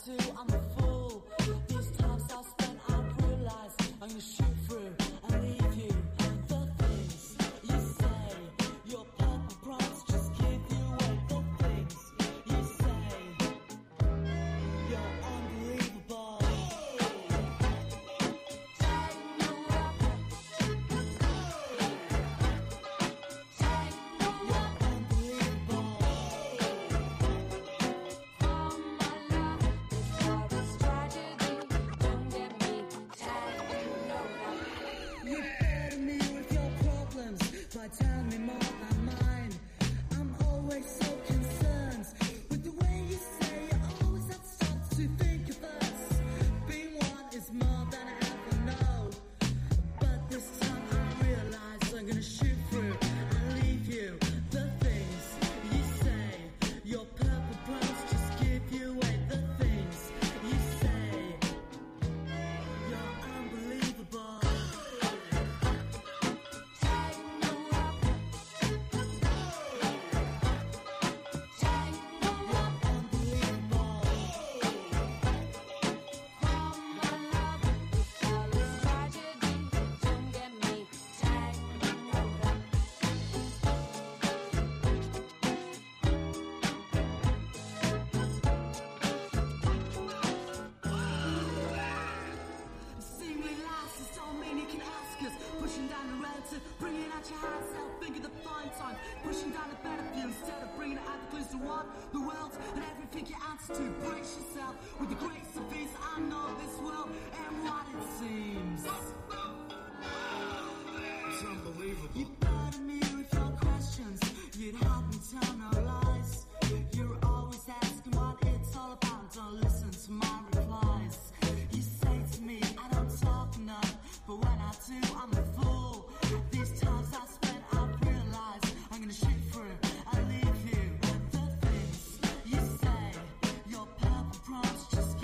do, I'm a fool. These times I spent, I realize I'm gonna shoot through and leave you. The things you say, your purple promise just give you away. The things you say, you're unbelievable. By telling me more than mine. I'm always so concerned with the way you say you always have stopped to think of us. Being one is more than I ever know, but this time I realize I'm gonna shoot through and leave you. The things you say, your purple promise just give you away. The things you say, you're unbelievable. Pushing down the relative, bringing out your high self, think of the fine time. Pushing down the better view instead of bringing it out the clues to what? The world and everything you answer to. Brace yourself with the grace of peace. I know this world and what it seems. It's unbelievable. You burden me with your questions, you'd have me tell no lies. You're always asking what it's all about, don't listen to my replies. You say to me, I don't talk enough, but when I do, I'm a fool. These times I spent, I've realized I'm gonna shoot through and leave you. The things you say, your purple promise just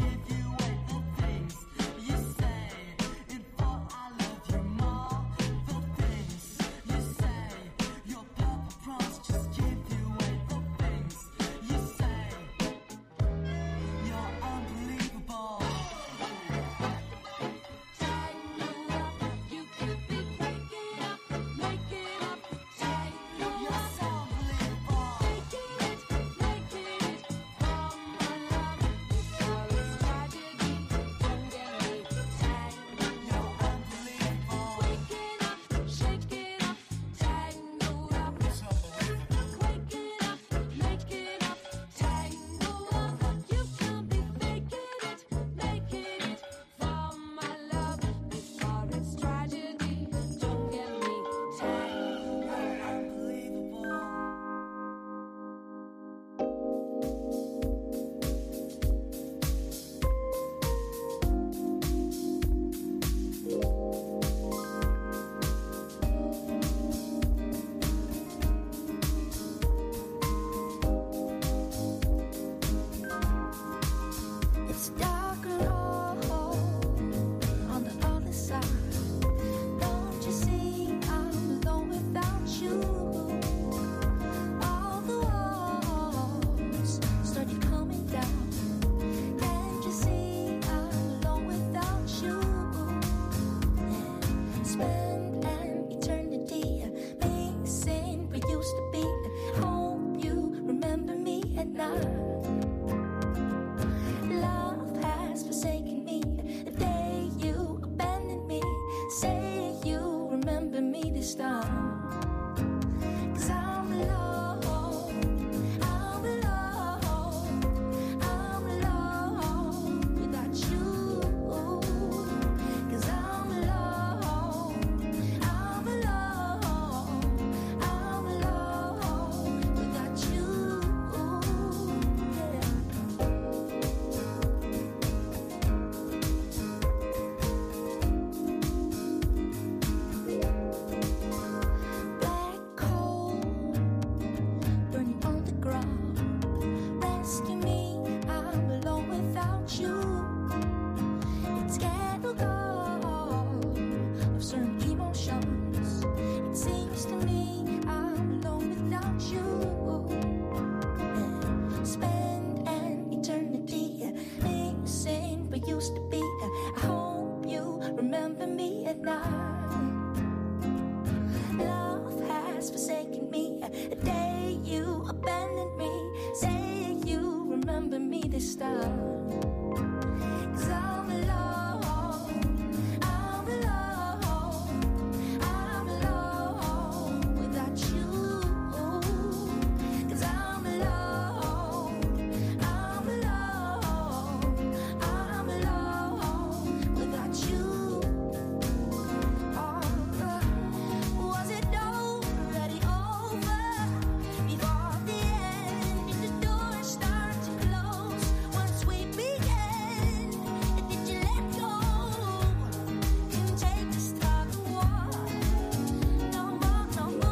used to be. I hope you remember me at night. Love has forsaken me the day you abandoned me. Say you remember me this time. 'Cause I'm alone, I'm alone, I'm alone without you. 'Cause I'm alone, I'm alone, I'm alone without you. Was it already over before the end? Did the door start to close once we began? Did you let go and take the start of war? No more,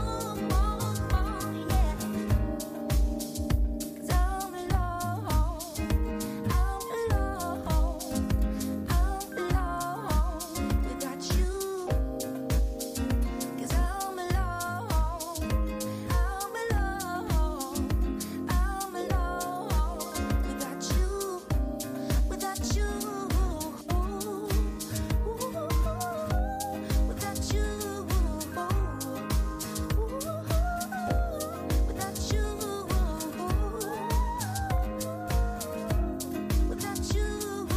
yeah. 'Cause I'm alone, I'm alone, I'm alone without you. 'Cause I'm alone, I'm alone, I'm alone without you, without you, without you, without you. Without you,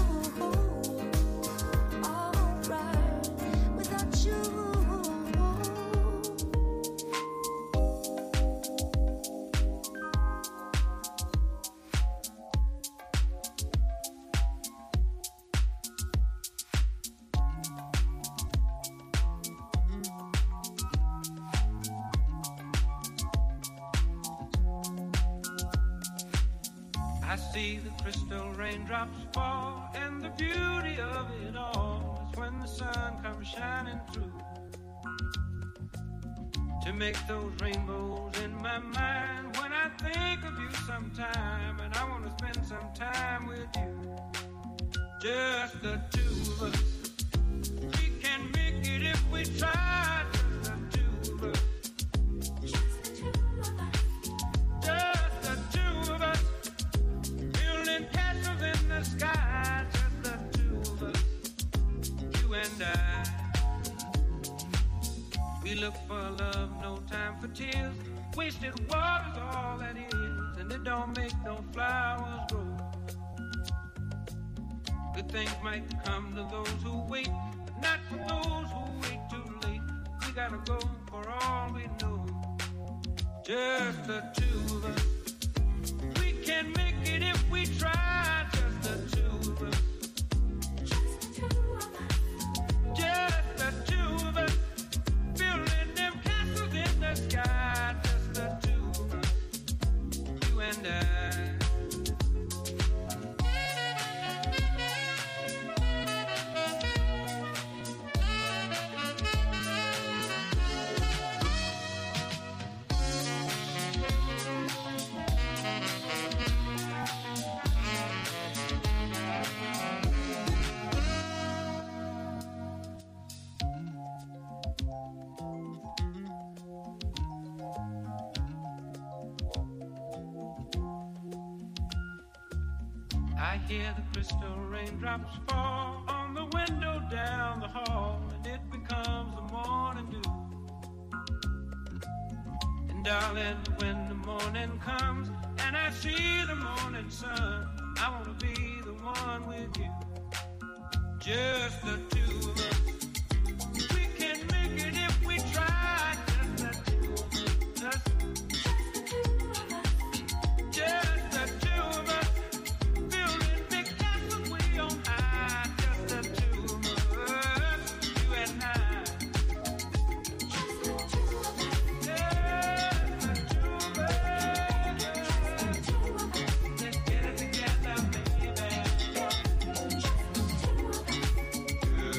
alright. Without you. I see the crystal raindrops fall, and the beauty of it all is when the sun comes shining through to make those rainbows in my mind. When I think of you sometime, and I want to spend some time with you, just the two of us. We can make it if we try, just the two of us. Just the two of us. Building castles in the sky, just the two of us, you and I. We look for love, no time for tears. Wasted water's all that is, and it don't make no flowers grow. Good things might come to those who wait, but not for those who wait too late. We gotta go for all we know, just the two of us. We can make it if we try, just the two of us. Just the two of us. Building them castles in the sky, just the two of us. You and I. I hear the crystal raindrops fall on the window down the hall, and it becomes the morning dew. And darling, when the morning comes and I see the morning sun, I wanna be the one with you, just the two of us. We can make it if we try, just the two of us. Just the two of us. Building big castles way on high, just the two of us, you and I. Just the two of us. Just the two of us. Let's get it together, baby. Just the two of us.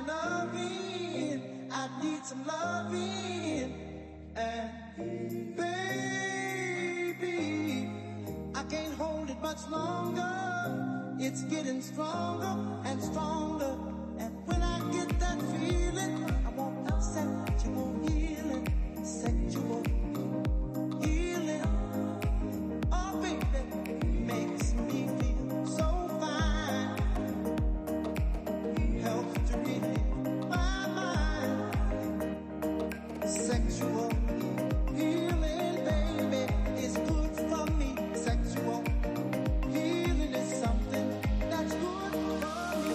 loving. I need some loving. And baby, I can't hold it much longer. It's getting stronger and stronger. And when I get that feeling, I want sexual healing, sexual healing. Oh, baby, makes me feel so fine. Helps to relieve my mind. Sexual healing, baby, is good for me. Sexual healing is something that's good for me.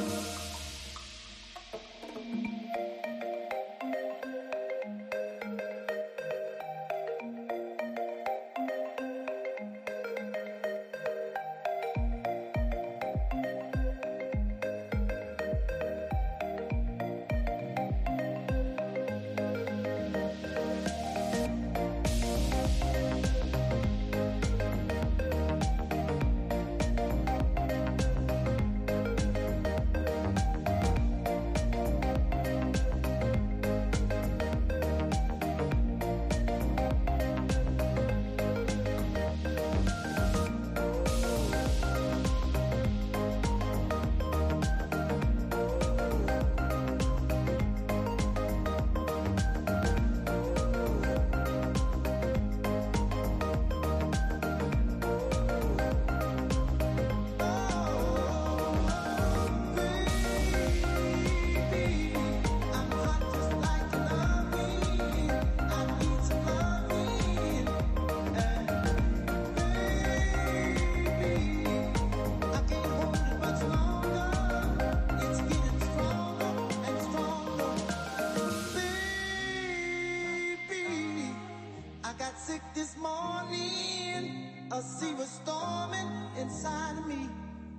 Sick this morning, a sea was storming inside of me.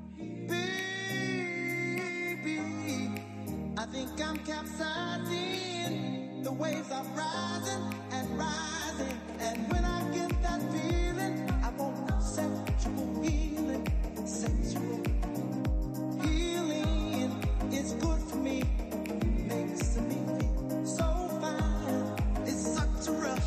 Baby, I think I'm capsizing. The waves are rising and rising. And when I get that feeling, I want sexual healing. Sexual healing is good for me. Makes me feel so fine. It's such a rush.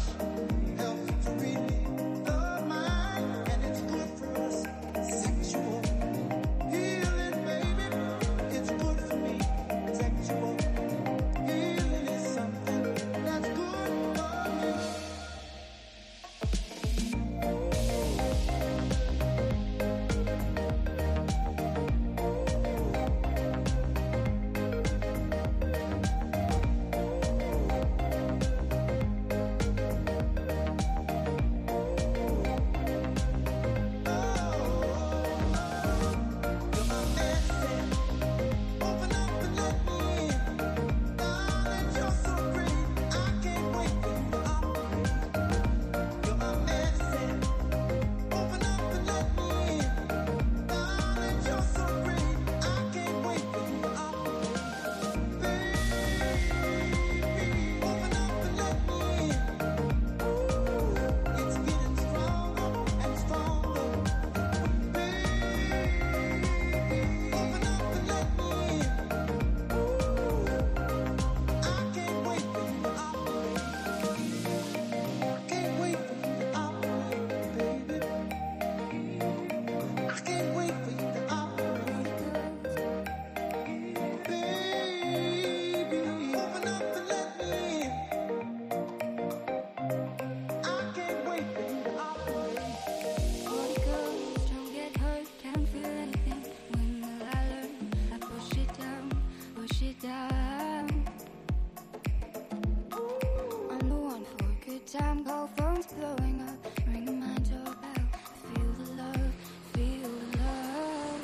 Time, call phones blowing up, ringing my doorbell. Feel the love, feel the love.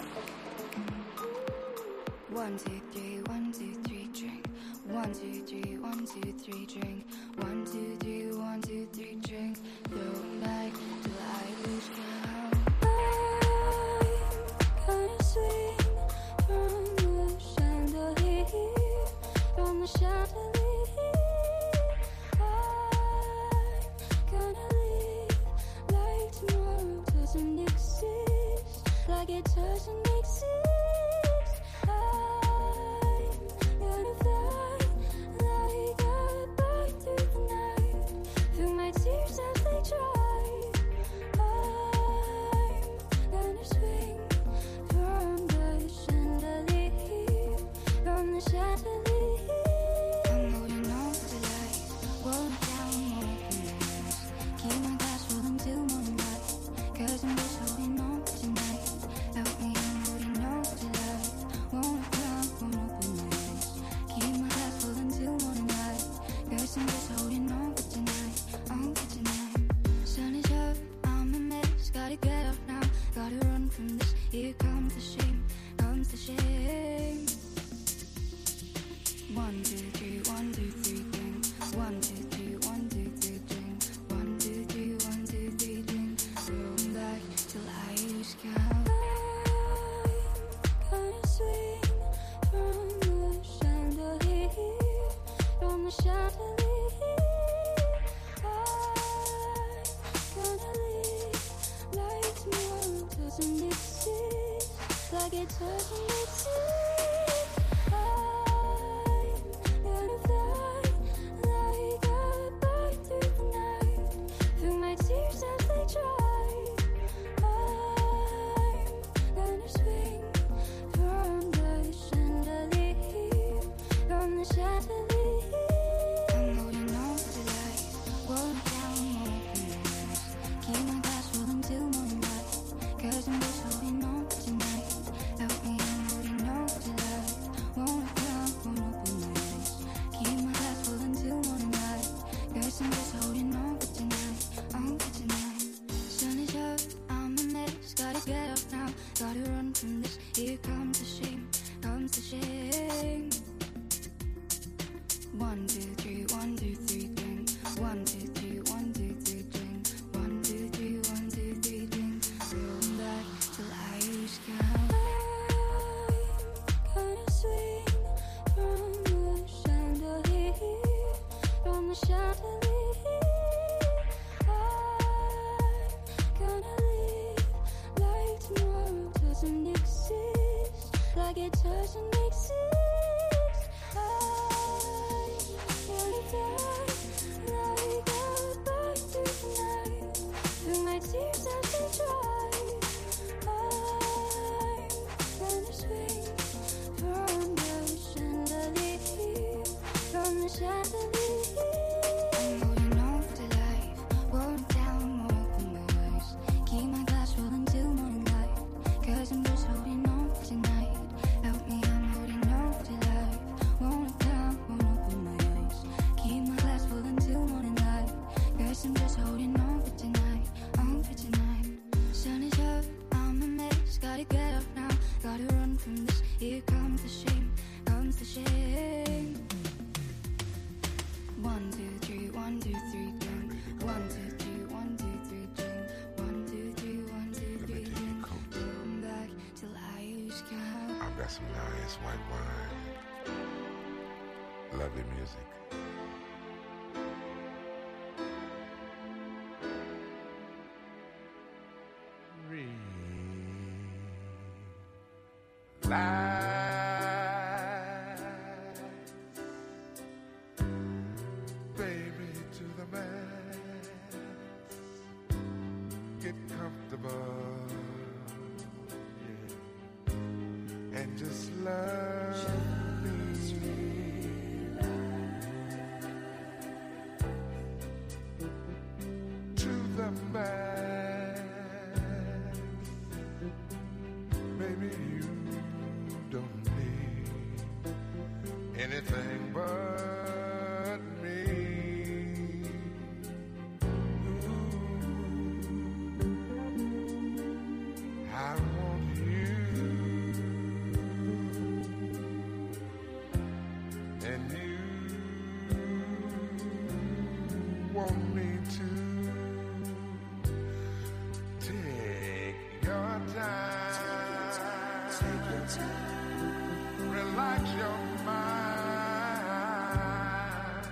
1, 2, 3, 1, 2, 3, drink. 1, 2, 3, 1, 2, 3, drink. 1, 2, 3, 1, 2, 3, drink. Going back till I lose count. I'm gonna swing from the chandelier, from the chandelier. Doesn't exist, like it doesn't exist. I'm gonna fly. Here comes the shame, comes the shame. 1, 2, 3, 1, 2, 3, drink. 1, 2, 3, 1, 2, 3, drink. 1, 2, 3, 1, 2, 3, drink. Roll back till I lose count. I'm gonna swing from the chandelier, from the chandelier. I'm gonna live like tomorrow doesn't exist, like it doesn't exist. Here comes the shame, comes the shame. 1, 2, 3, 1, 2, 3, drink. 1, 2, 3, 1, 2, 3, drink. 1, 2, 3, 1, 2, 3, drink. Roll back till I lose count. I'm gonna swing from the chandelier, from the chandelier. I'm gonna live like tomorrow doesn't exist, like it doesn't exist. I'm gonna die like a bird through the night, through my tears as they dry. I'm gonna swing from the chandelier, from the chandelier. I'm holding on to life, holding down more open my eyes. Keep my glass rolling till morning light, 'cause I'm just holding on tonight. Help me, I'm holding on to life, won't down, won't open my eyes. Keep my glass full until morning light, 'cause I'm just holding on for tonight, on for tonight. Sun is up, I'm a mess, gotta get up now, gotta run from this. Here comes the shame, comes the shame. 1, 2, 3, 1, 2, 3, drink. 1, 2, 3, 1, 2, 3, drink. 1, 2, 3, 1, 2, 3, drink. Come back till I lose count. I've got some nice white wine. Lovely music. Baby to the max. Get comfortable, yeah, and just love me. To the max. Baby, you don't need anything but me. Ooh, I want you, and you want me to. Take your time. Take your time. Relax your mind.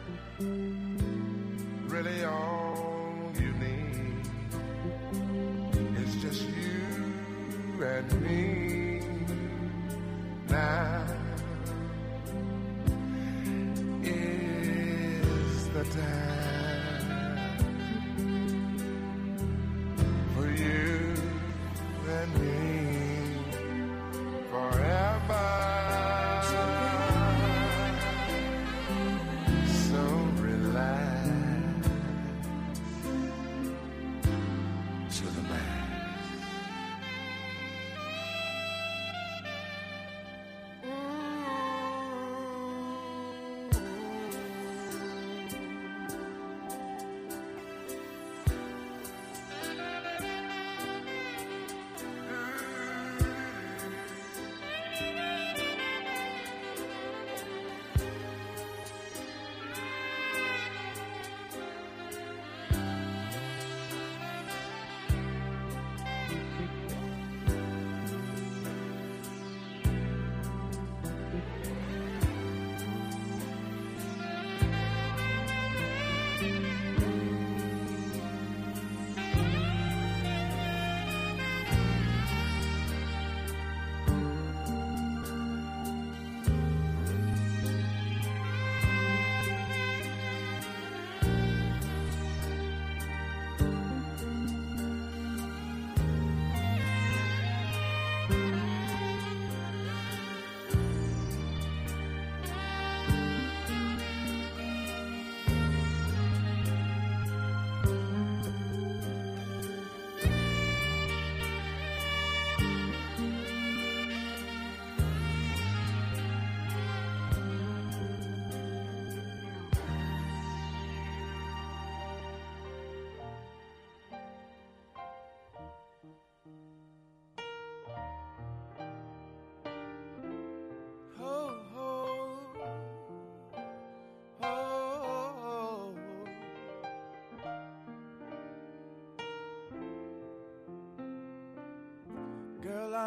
Really all you need is just you and me. Now is the time for you and me forever. So relax to the max.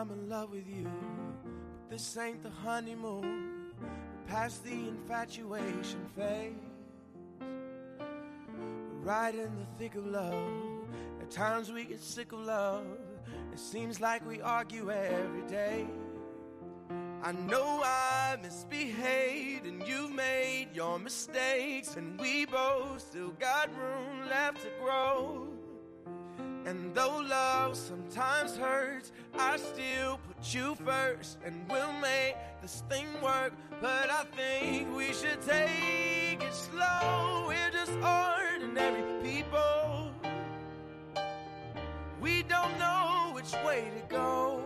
I'm in love with you, but this ain't the honeymoon. We're past the infatuation phase. We're right in the thick of love. At times we get sick of love. It seems like we argue every day. I know I misbehaved and you've made your mistakes, and we both still got room left to grow. And though love sometimes hurts, I still put you first, and we'll make this thing work. But I think we should take it slow. We're just ordinary people. We don't know which way to go,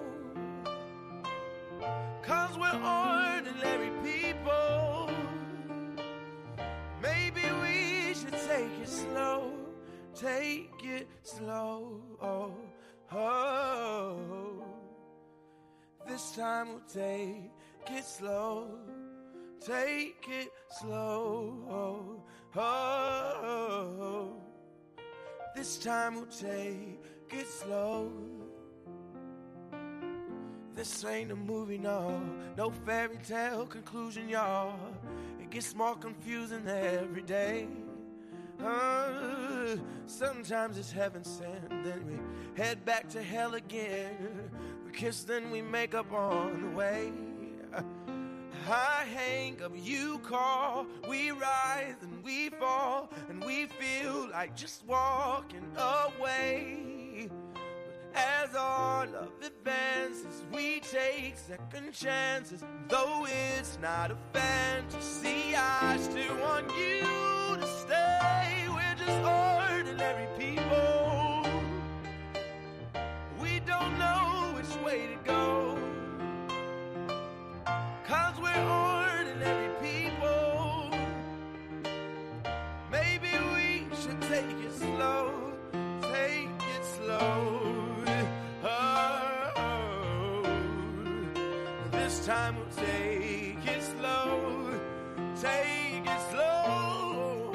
'cause we're ordinary people. Maybe we should take it slow. Take it slow. Oh, oh. This time we'll take it slow. Take it slow. Oh, oh. This time we'll take it slow. This ain't a movie, no. No fairy tale conclusion, y'all. It gets more confusing every day. Sometimes it's heaven sent, then we head back to hell again. We kiss, then we make up on the way. I hang up, you call, we rise and we fall, and we feel like just walking away. But as our love advances, we take second chances. Though it's not a fantasy, I still want you to stay. We're just ordinary people. We don't know which way to go, 'cause we're ordinary people. Maybe we should take it slow. Take it slow. Oh, this time we'll take it slow. Take it slow.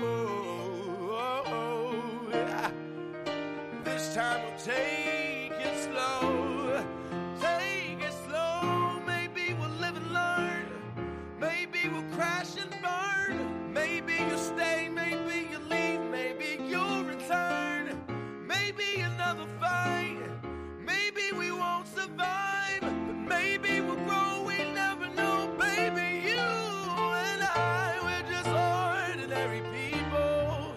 This time we'll take it slow. Take it slow. Maybe we'll live and learn. Maybe we'll crash and burn. Maybe you'll stay, maybe you'll leave, maybe you'll return. Maybe another fight. Maybe we won't survive, but maybe we'll grow. We never know, baby. You and I, we're just ordinary people.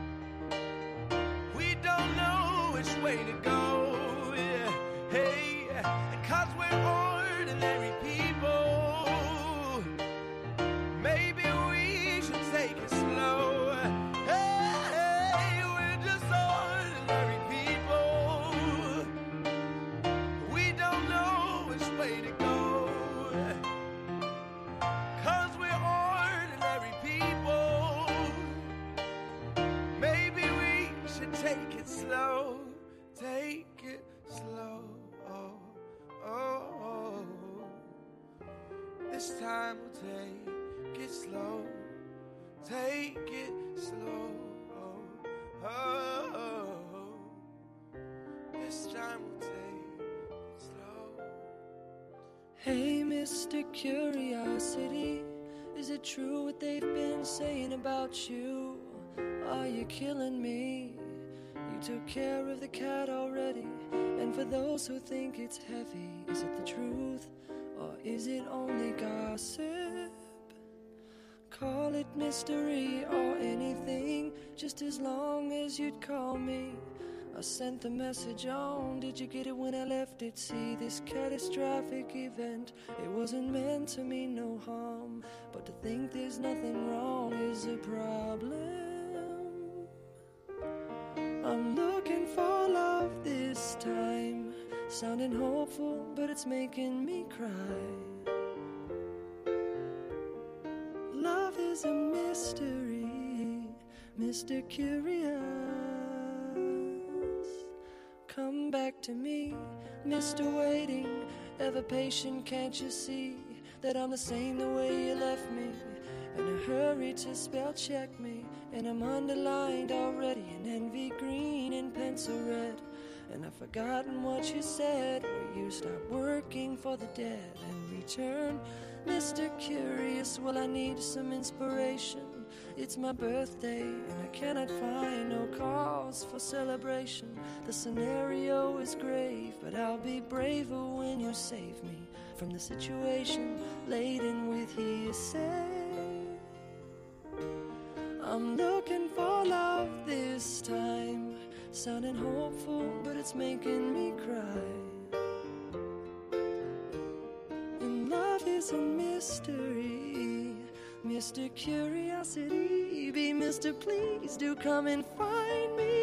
We don't know which way to go. Yeah. Hey, 'cause we're ordinary people. Maybe we should take it slow. Hey, we're just ordinary people. We don't know which way to go, 'cause we're ordinary people. Maybe we should take it slow. Take it slow. Oh, oh, oh. This time we'll take it slow. Take it slow. Oh, oh, oh. This time we'll take it slow. Hey, Mr. Curiosity, is it true what they've been saying about you? Are you killing me? You took care of the cat already. And for those who think it's heavy, is it the truth or is it only gossip? Call it mystery or anything, just as long as you'd call me. I sent the message on, did you get it when I left it? See, this catastrophic event, it wasn't meant to mean no harm, but to think there's nothing wrong is a problem. I'm looking for love this time, sounding hopeful, but it's making me cry. Love is a mystery, Mr. Curious. Come back to me, Mr. Waiting, ever patient, can't you see that I'm the same the way you left me? In a hurry to spell check me, and I'm underlined already in envy green and pencil red. And I've forgotten what you said, where you stop working for the dead and return. Mr. Curious, well, I need some inspiration. It's my birthday and I cannot find no cause for celebration. The scenario is grave, but I'll be braver when you save me from the situation laden with hearsay. I'm looking for love this time, sounding hopeful, but it's making me cry. And love is a mystery, Mr. Curiosity, be Mr. Please do come and find me.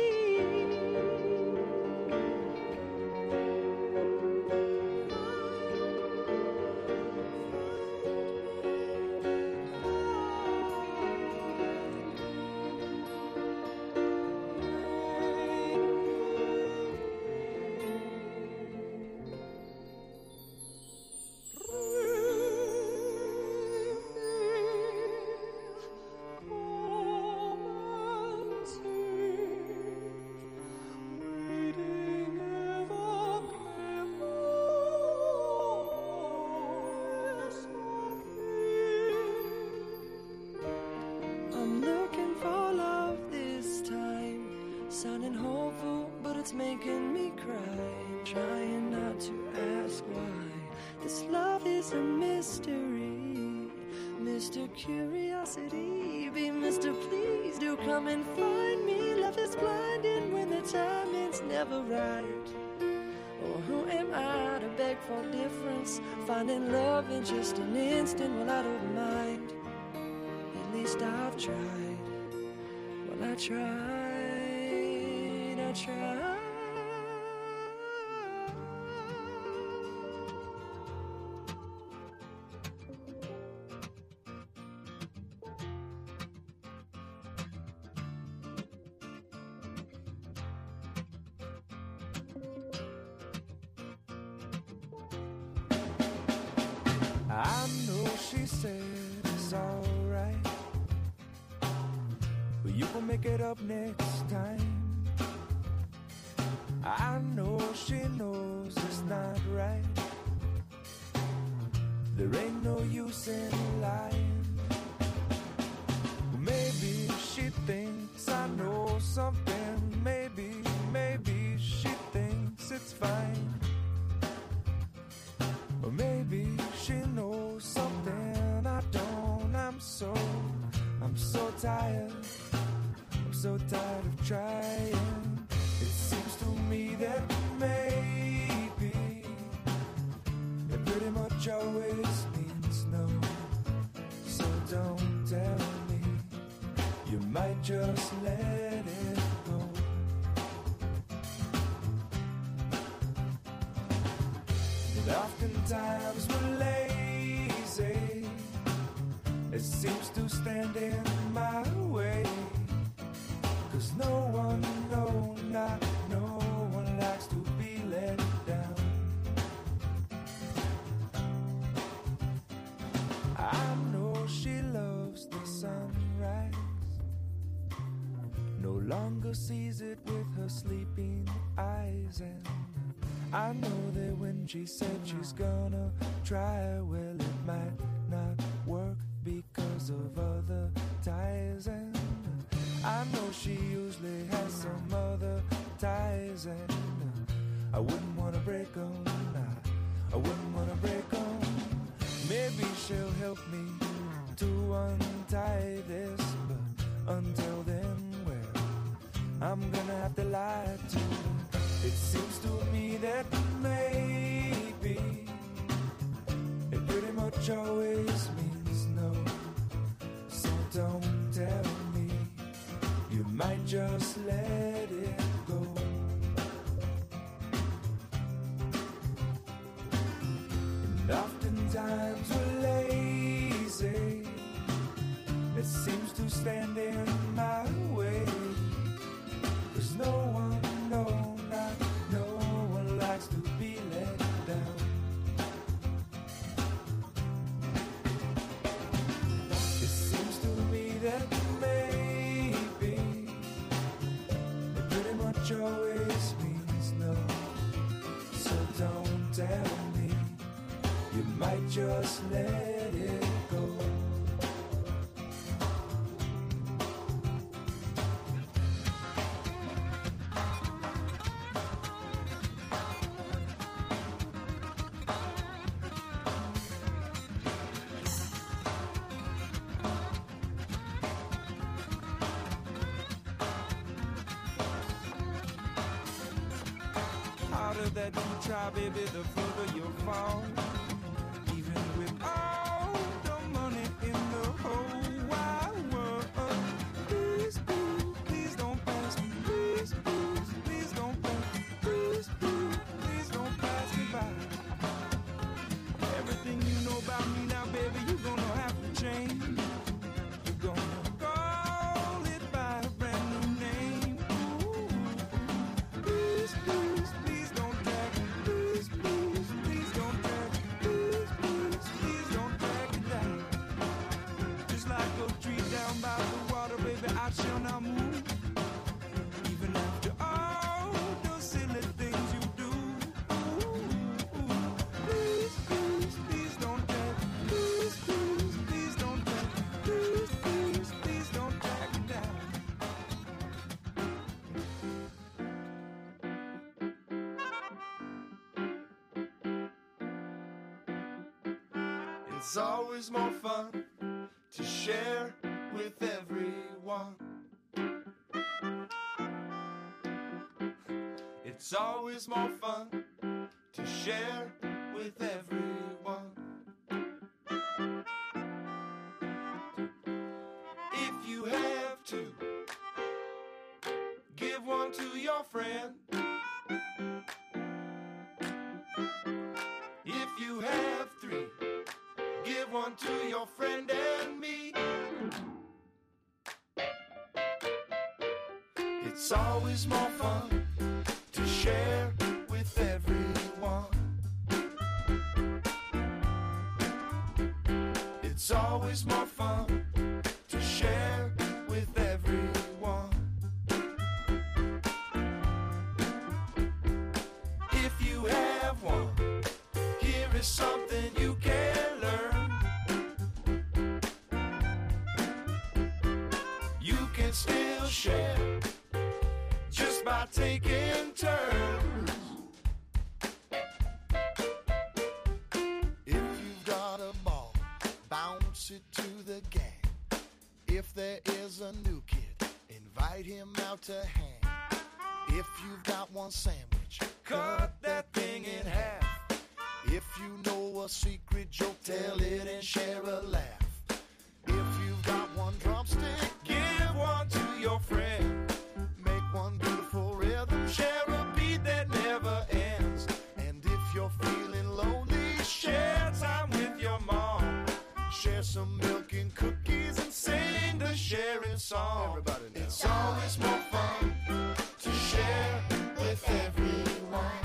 Sounding hopeful, but it's making me cry. Trying not to ask why. This love is a mystery. Mr. Curiosity, be Mr. Please do come and find me. Love is blinding when the timing's never right. Or who am I to beg for difference? Finding love in just an instant, well, I don't mind. At least I've tried. Well, I tried. I tried. I know she said it's alright, but you will make it up next time. I know she knows it's not right. There ain't no use in lying. Maybe she thinks I know something. Maybe she thinks it's fine. Or maybe she knows something I don't. I'm so tired. I'm so tired of trying. It seems to me that maybe it pretty much always means no. So don't tell me, you might just let it go. And oftentimes we're lazy, it seems to stand in my way. 'Cause no one, not no one likes to be let down. I know she loves the sunrise, no longer sees it with her sleeping eyes. And I know that when she said she's gonna try, well, it might not work because of other ties. And I know she usually has some other ties, and I wouldn't want to break them. I wouldn't want to break them. Maybe she'll help me to untie this, but until then, well, I'm gonna have to lie to her. It seems to me that maybe it pretty much always means no. So don't tell me, you might just let it go. And oftentimes we're lazy, it seems to stand in my way. 'Cause no one likes to be let down. just let it go. Harder that you try, baby, the further you'll fall. Even with all the money in the whole wide world. Please, please, please don't pass me. Please, please, please don't pass me. Please, please, please don't pass me by. Everything you know about me now, baby, you're gonna have to change. You're gonna call it by a brand new name. Ooh, please, please, please don't drag me. Please, please, please don't drag me. Please, please, please don't drag me down. Just like a tree down by the water, baby, I shall not move. Even after all the silly things you do. Ooh, please, please, please don't drag me. Please, please, please don't drag me. Please, please, please don't drag me down. It's always more fun to share with everyone. It's always more fun to share with everyone. If you have two, give one to your friend. If you have three, give one to your friend and me. It's always more fun to share with everyone. It's always more fun to share with everyone. If you have one, here is something you can learn. You can still share just by taking turns. If you've got a ball, bounce it to the gang. If there is a new kid, invite him out to hang. If you've got one sandwich, cut that thing in half. If you know a secret joke, tell it and share a laugh. If you've got one drumstick, give one to your friend. Make one beautiful rhythm, share a beat that never ends. And if you're feeling lonely, share time with your mom. Share some milk and cookies and sing the sharing song. Everybody now. It's always more fun to share with everyone.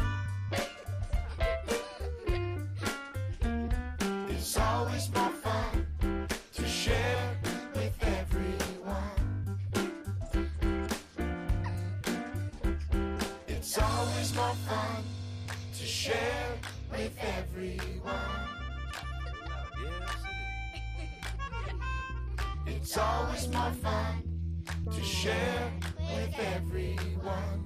It's always more fun to share with everyone. It's always more fun to share with everyone. It's always more fun to share with everyone.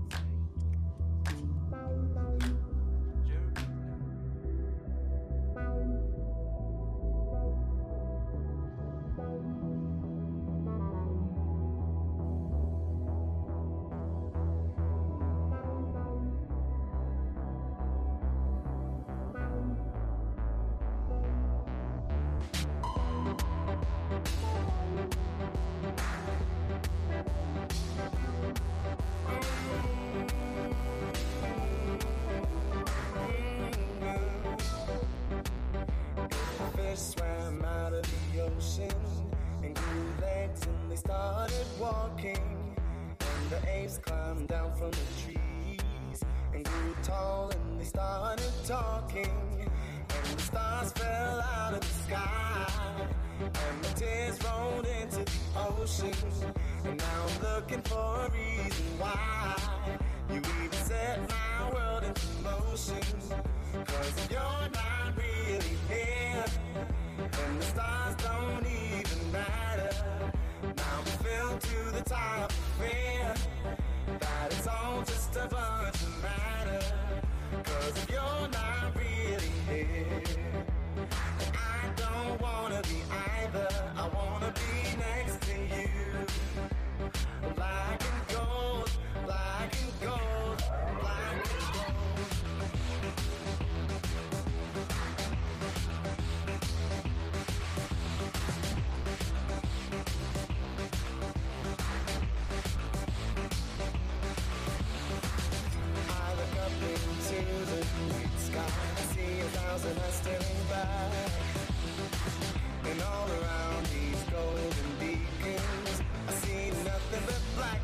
Swam out of the ocean and grew legs and they started walking. And the apes climbed down from the trees and grew tall and they started talking. And the stars fell out of the sky and the tears rolled into the ocean. And now I'm looking for a reason why you even set my world into motion. 'Cause you're not real really here, and the stars don't even matter. Now we fell to the top of fear, that it's all just a bunch of matter. 'Cause if you're not really here, I don't wanna be either. I wanna be next to you. Black and gold, black and gold, black and gold. I look up into the night sky, I see 1,000 eyes staring back. And all around these golden beacons, I see nothing but black.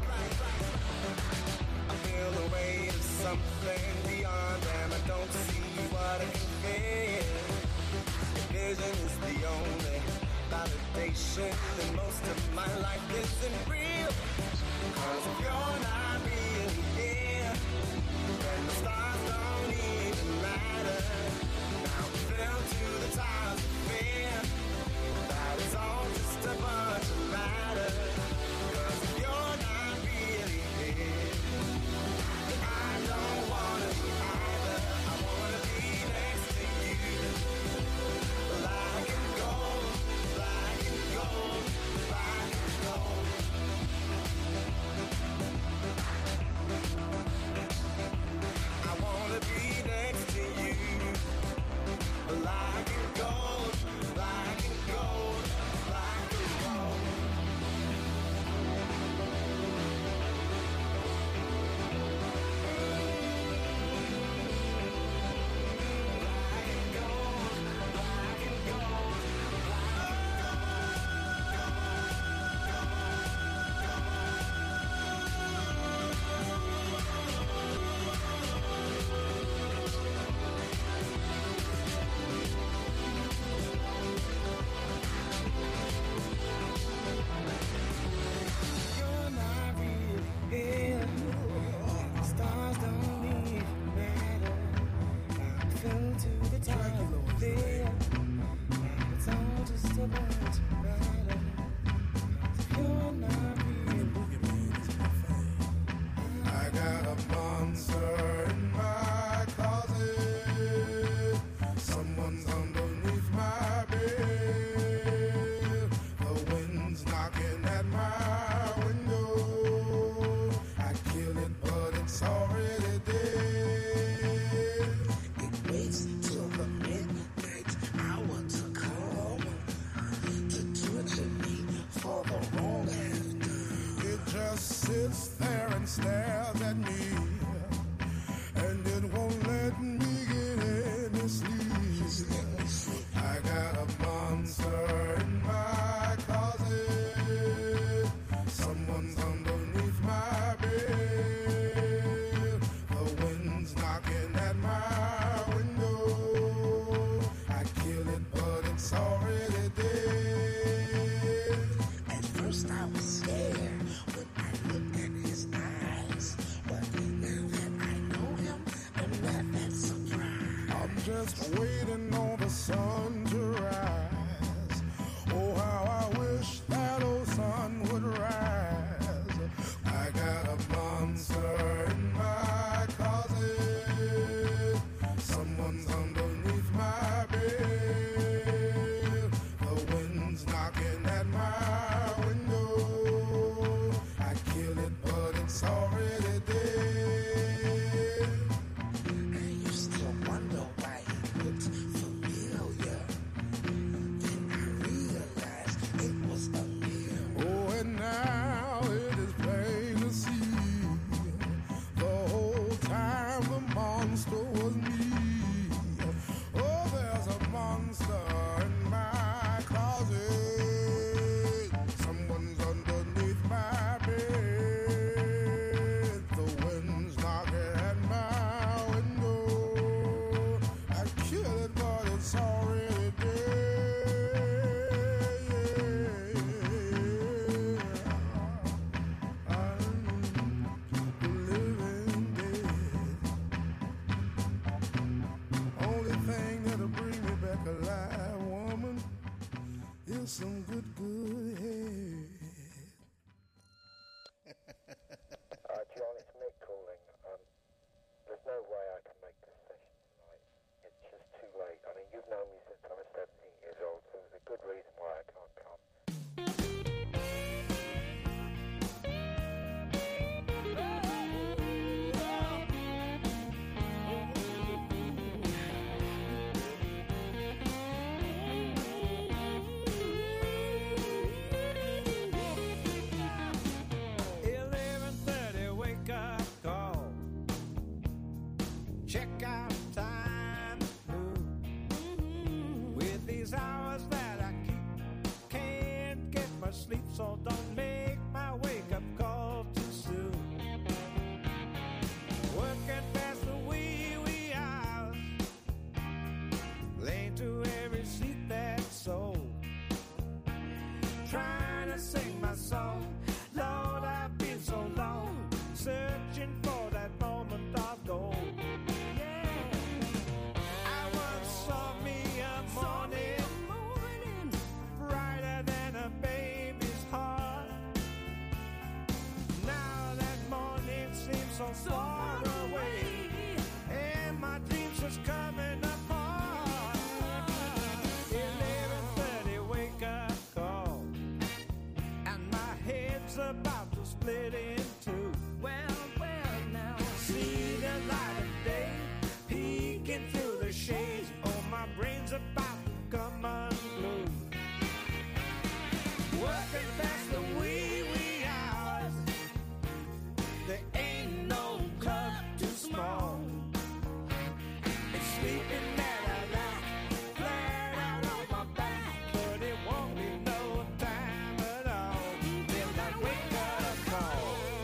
I feel the weight of something beyond them. I don't see what I can feel. Vision is the only validation, and most of my life isn't real. 'Cause if you're not really here, then the stars don't even matter. Now we fell to the tides of fear, that it's all just a bunch of matter. 'Cause if you're not really here, then I don't wanna be either. I wanna be next to you. Black and gold, black and gold, black and gold. I wanna be next to you. Black and gold, black and gold, black and gold. You're not really here. The stars don't even matter. I fell to the top of fear. It's all just a bunch of matter. You're not really. I got a monster in my closet. Someone's underneath my bed. The wind's knocking at my window. I kill it, but it's already dead. It waits till the midnight hour to come to torture me for the wrong after. It just sits there and stares at me, and it won't let me get any sleep. I got a monster in my closet. Someone's underneath my bed. The wind's knocking at my window. I kill it, but it's already dead. At first I was scared when I looked at his eyes, but now that I know him, I'm not that surprised. I'm just waiting on the sun to rise. Oh, how I wish that old sun would rise. I got a monster in my closet. Someone's underneath my bed. The wind's knocking at my window. I kill it, but it's already dead. I used to wonder why it looked familiar. Then I realized it was a sleep, so don't make my wake-up call too soon. Working past the wee hours, late to every sleep-that soul. Trying to sing my song, Lord, I've been so long, searching for that moment of gold. So far away, and my dreams just coming apart. 11:30 wake up call, and my head's about to split in two. Well, now see the light of day peeking through the shades. Oh, my brain's about to come unglued. Working past the wee hours, there ain't small. It's sleeping that I like, flat out on my back, but it won't be no time at all till that wake up call.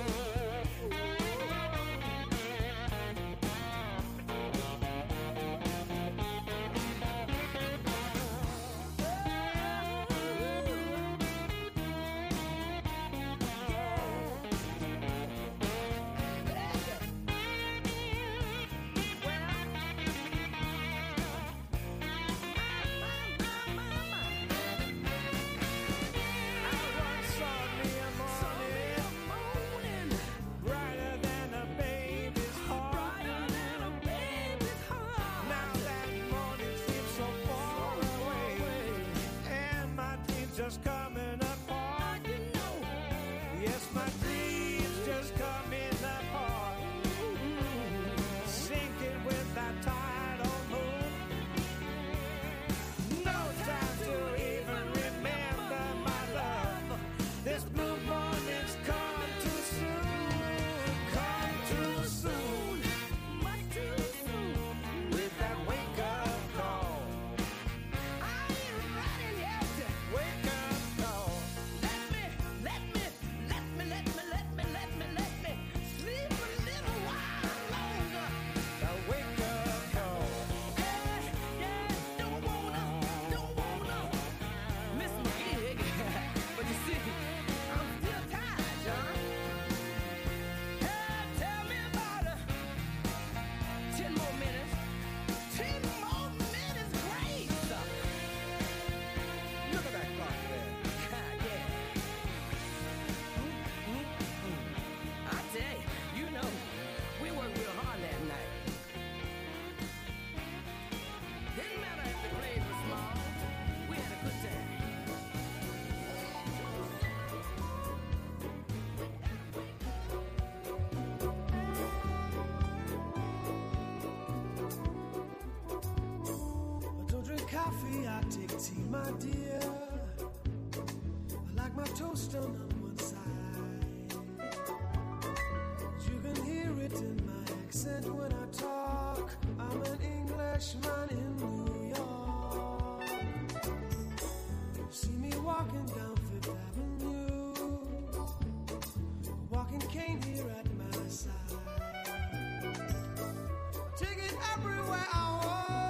Just coming apart, you know. Yes, my dreams just coming apart. Sinking with that tidal moon. No time to even remember my love. This blue morning's come too soon. Come too soon. Much too soon. With that wake-up call. I ain't running yet. Wake up. Coffee, I take tea, my dear. I like my toast on one side. You can hear it in my accent when I talk. I'm an Englishman in New York. You see me walking down Fifth Avenue, walking cane here at my side. Take it everywhere I walk.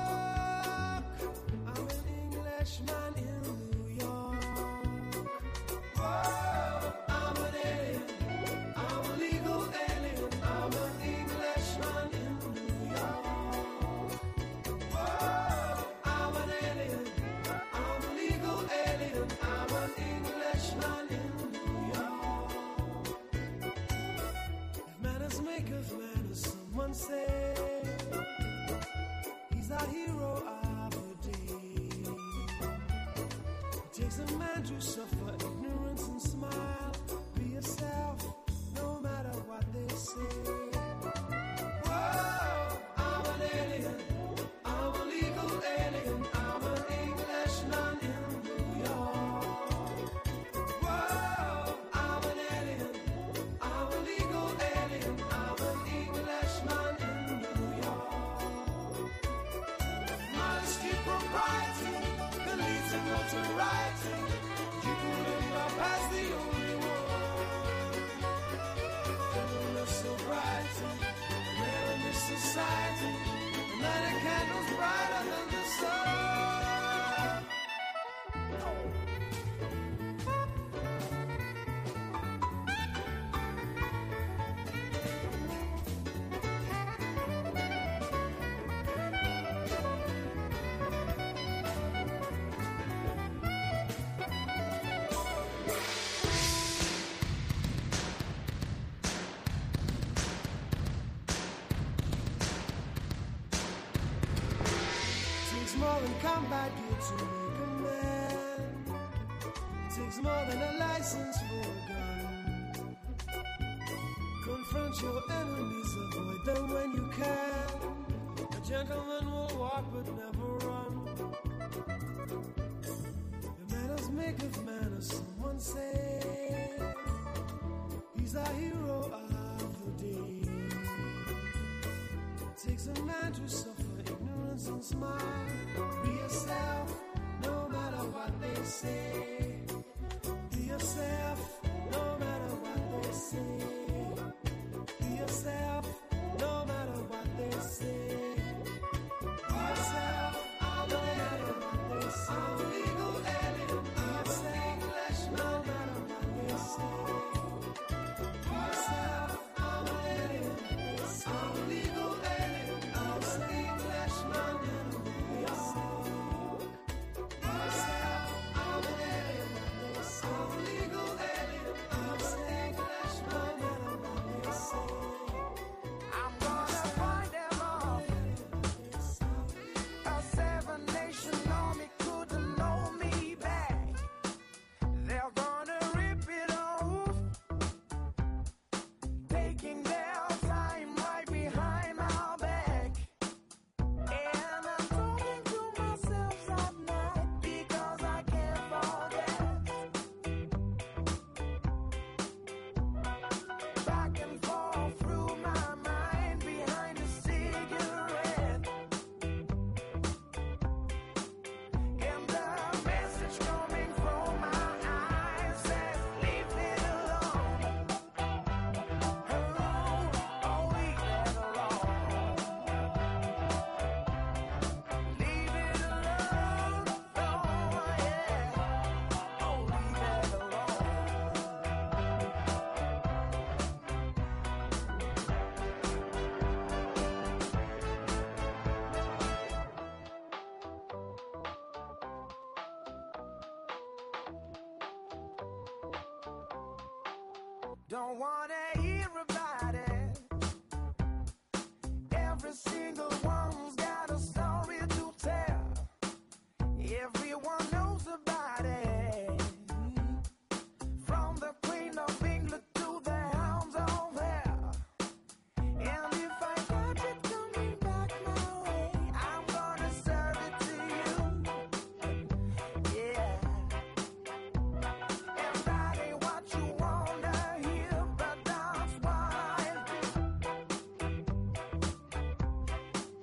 Man in New York. Whoa, I'm an alien. I'm a legal alien. I'm an Englishman in New York. Whoa, I'm an alien. I'm a legal alien. I'm an Englishman in New York. If manners make of manners, someone say he's our hero of the day. Takes a man to suffer ignorance and smile. Be yourself, no matter what they say. Whoa, I'm an alien. I'm a legal alien. I'm an Englishman in New York. Whoa, I'm an alien. I'm a legal alien. I'm an Englishman in New York. Modesty, propriety, the leads and notoriety. You can more than combat gear to make a man. It takes more than a license for a gun. Confront your enemies, avoid them when you can. A gentleman will walk but never run. The manners make of manners, someone say. He's a hero of the day. It takes a man to suffer ignorance and smile. Be yourself, no matter what they say. Be yourself, no matter what they say. Be yourself, no matter what they say. Be yourself, no matter what they say. I'm a legal alien. Be yourself, no matter what they say. Be yourself, I'm an alien. I'm a legal alien. I'm a Englishman. Be yourself. Be yourself, I'm an alien. I'm a legal alien. I'm a Englishman. Be yourself. I'm gonna find them all. A 7-nation army couldn't hold me back. They're gonna rip it off, taking their time right behind my back. And I'm talking to myself at night because I can't forget. Back and forth through my mind behind a cigarette. And the message coming from my eyes says, leave it alone. Oh, leave it alone. Leave it alone. Oh, yeah. Oh, leave it alone. Don't wanna hear about it. Every single one's got a story to tell. Everyone knows about it. From the Queen of England to the Hounds of Hell. And if I catch it coming back my way, I'm gonna serve it to you. Yeah. And that ain't what you wanna hear, but that's what I do.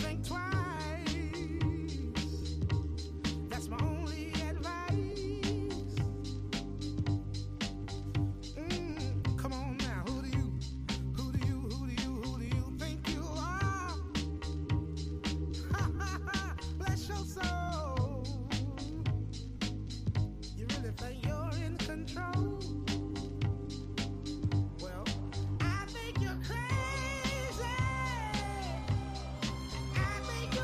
think twice. That's my only advice. Come on now, who do you think you are? Bless your soul. You really think you're in control? Well, I think you're crazy. I think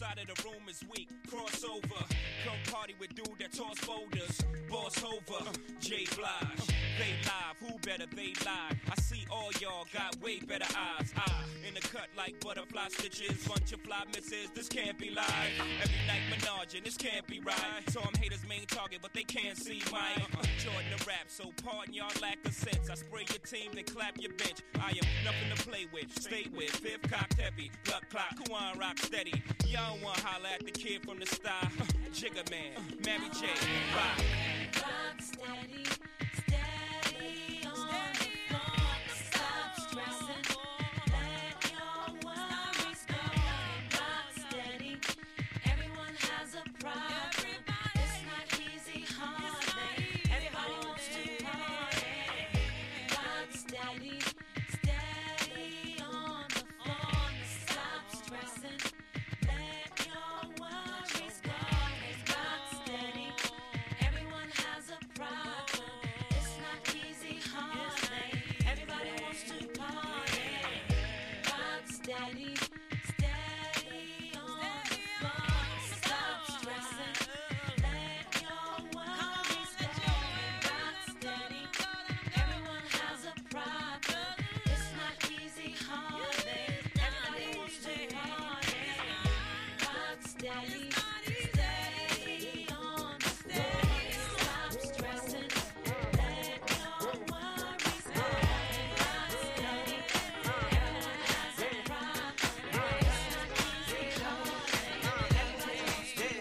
side of the room is weak. Crossover, come party with dude that toss boulders. Boss Hova, J Blige. They live, who better they live? I see all y'all got way better eyes. In the cut like butterfly stitches. Bunch of fly misses, this can't be live. Every night menaging, this can't be right. So I'm haters' main target, but they can't see mine. Jordan the rap, so pardon y'all lack of sense. I spray your team, then clap your bench. I am nothing to play with, stay with. Fifth cocked heavy, blood clock, Kuan rock steady. Y'all wanna holler at the kid from the star. Jigga Man, Mary J, bye. Rock steady, steady on the floor. Stop stressing, let your worries go. Rock steady, everyone has a problem. It's not easy, hardly. Everybody wants to party. Rock steady, steady on the floor. Stop stressing, let your worries go. Rock steady, everyone has a problem. It's not easy, hardly. Everybody wants to party. Rock steady, steady on the floor. Stop stressing, let your worries go. Rock steady, everyone has a problem. It's not easy, hardly. Everybody wants to party. Rock steady, steady on the floor. Stop stressing, let your worries go. Rock steady, everyone has a problem. It's not easy, hardly. Everybody wants to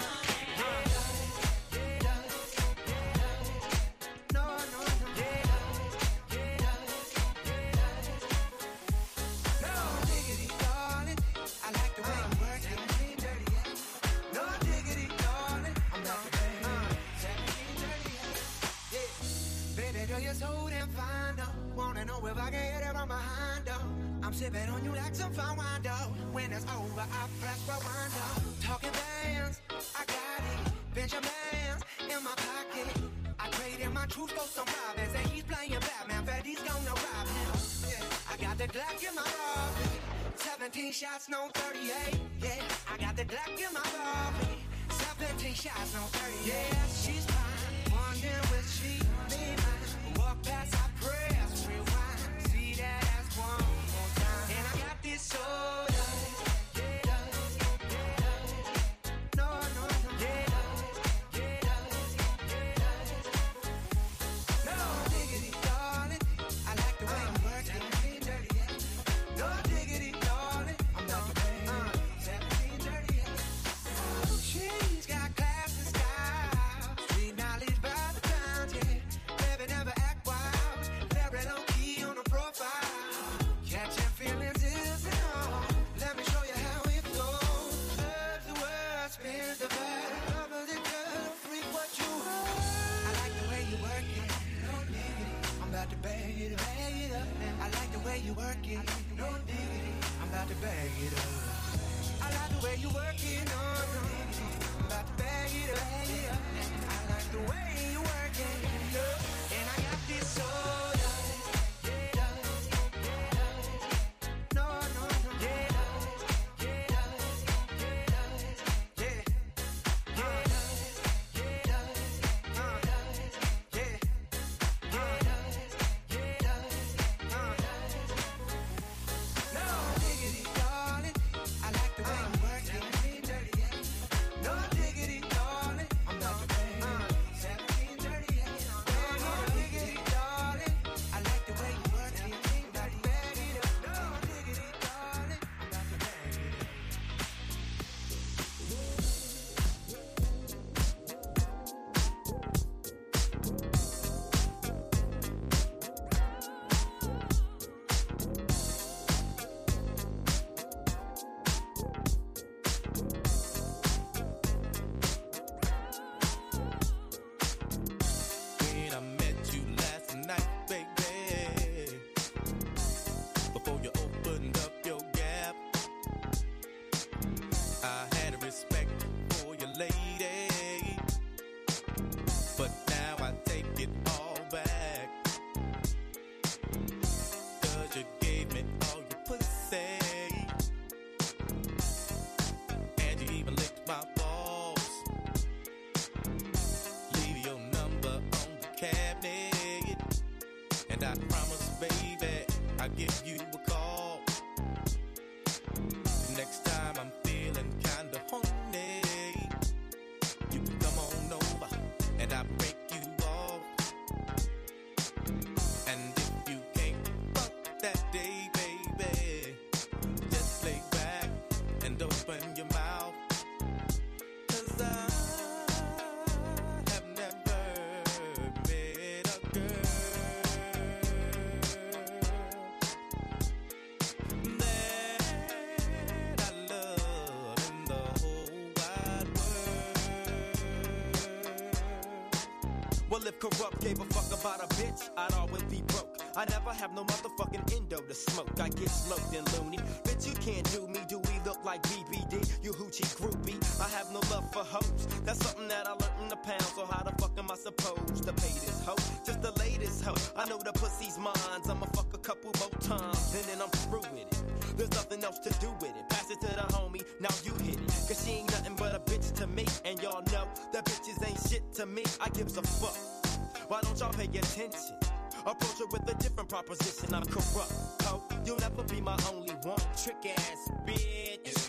No diggity, darling. I like the way you work it. No diggity, darling. I'm not the baby. 1738. Yeah. Baby girl, you're so damn fine, though. Wanna know if I can hit it from behind, though. I'm sipping on you like some fine wine, though. When it's over, I press rewind, though. Talking bands, I got it. Benjamins in my pocket. I traded my truth for some robins, and he's playing Batman. Freddy's gonna rob him. Yeah. I got the Glock in my robbery. 17 shots, no 38. Yeah, I got the Glock in my robbery. 17 shots, no 38. Yeah, she's fine. Wondering will she be mine? Walk past, I press rewind. See that ass one more time. And I got this soda. No, no, no. No diggity, darling. I like the way you work it. No diggity, darling. I'm not the baby. 1738. She's got class and style. Street knowledge by the pound, yeah. Baby never act wild. Very low key on the profile. Catching feelings isn't all. Let me show you how it goes. Serves the word, spins the bird. Cover the girl, freak what you want. I like the way you work it. No diggity. I'm about to bag it up. I like the way you work it. No diggity. I'm about to bag it up. I like the way you work it. No, no. I'm about to bag it up. I like the way you work it. And I got this soda. No, no, no. No diggity, darling. I like the way you work it. No diggity, darling. I'm not the baby. 1738. No diggity, darling. baby, I'll give you a call. Next time I'm feeling kinda horny, you can come on over and I'll break you off. And if you can't fuck that day, baby, just lay back and open your mouth. 'Cause I have never met a girl that I love in the whole wide world. Well, if Corrupt gave a fuck about a bitch, I'd always be broke. I never have no motherfucking endo to smoke. I get smoked and loony. Bitch, you can't do me. Do we look like BBD? You hoochie groupie. I have no love for hoes. That's something that I learned in the pound. So how the fuck am I supposed to pay this hoe? Just the latest hoe. I know the pussy's mine. I'ma fuck a couple more times and then I'm through with it. There's nothing else to do with it. Pass it to the homie. Now you hit it. 'Cause she ain't nothing but a bitch to me. And y'all know that bitches ain't shit to me. I gives a fuck. Why don't y'all pay attention? Approach her with a different proposition. I'm Corrupt, ho. You'll never be my only one. Trick ass bitch.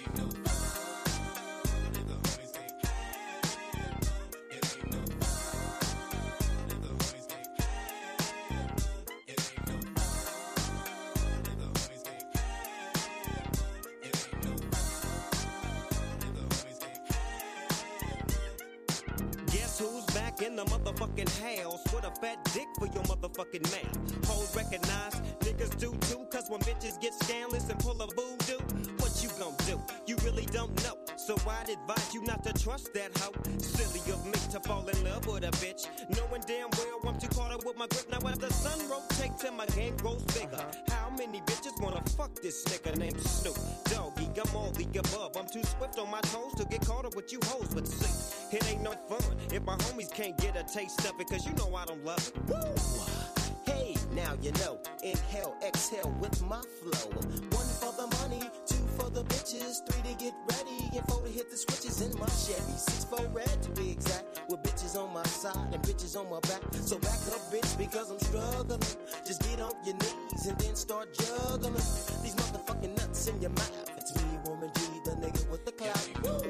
Guess who's back in the motherfucking house with a fat dick for your motherfucking mouth? Hoes recognize, niggas do too, 'cause when bitches get scandalous and pull a voodoo, what you gon' do? You really don't know, so I'd advise you not to trust that hoe. Silly of me to fall in love with a bitch, knowing damn well I'm too caught up with my grip. Now as the sun rotates and my game grows bigger, how many bitches wanna fuck this nigga named Snoop Doggy? I'm all the above, I'm too swift on my toes to get caught up with you hoes. But see, it ain't no fun if my homies can't get a taste of it, 'cause you know I don't love it. Woo! Hey, now you know, inhale, exhale with my flow. 1 for the money, 2 for the bitches, 3 to get ready, and 4 to hit the switches in my Chevy. 6 for red to be exact, with bitches on my side and bitches on my back. So back up, bitch, because I'm struggling. Just get on your knees and then start juggling these motherfucking nuts in your mouth. It's me, woman G, the nigga with the clout. Woo!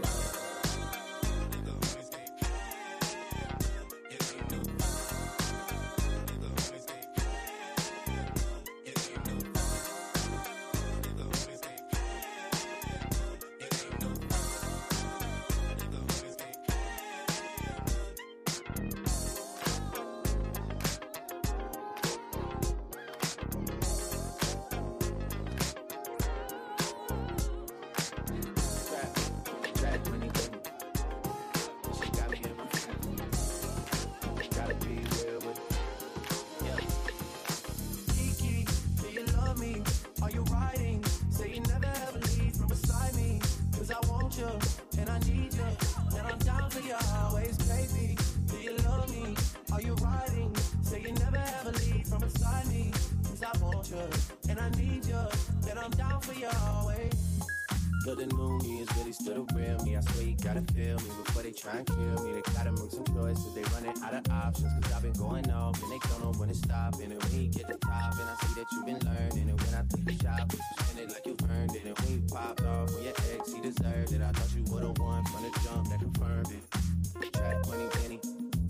But the Mooney is really still the real me. I swear you gotta feel me before they try and kill me. They gotta make some choices, they running out of options. 'Cause I've been going off and they don't know when to stop. And when you get the top, and I see that you've been learning. And when I take a shot, you spend it like you earned it. And when you popped off with your ex, he deserved it. I thought you would've won from the jump that confirmed it. Track money, penny.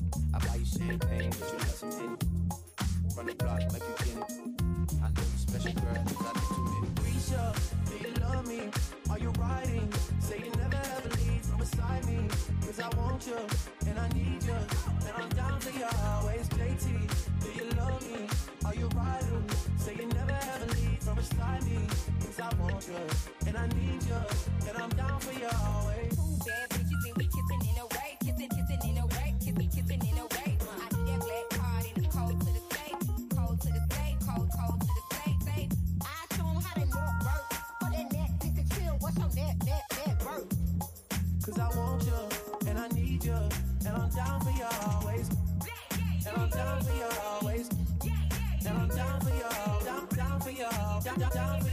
I buy you champagne, but you love some Henny. Run the block like you get it. I know you special girl, 'cause I did too many. Risha, do you love me? Are you riding? Say you never ever leave from beside me. 'Cause I want you, and I need you, and I'm down for you always. JT, do you love me? Are you riding? Say you never ever leave from beside me. 'Cause I want you, and I need you, and I'm down for you always. Bad bitches and we kissing in a way, kissing in a way, kissing in a way. I need that black card and it's cold to the state, cold to the state, cold to the state. I show 'em how they walk work. For that neck, think to chill. What's your net work? 'Cause I want you, and I need you, and I'm down for you always. And I'm down for you always. And I'm down for you, down for you, down for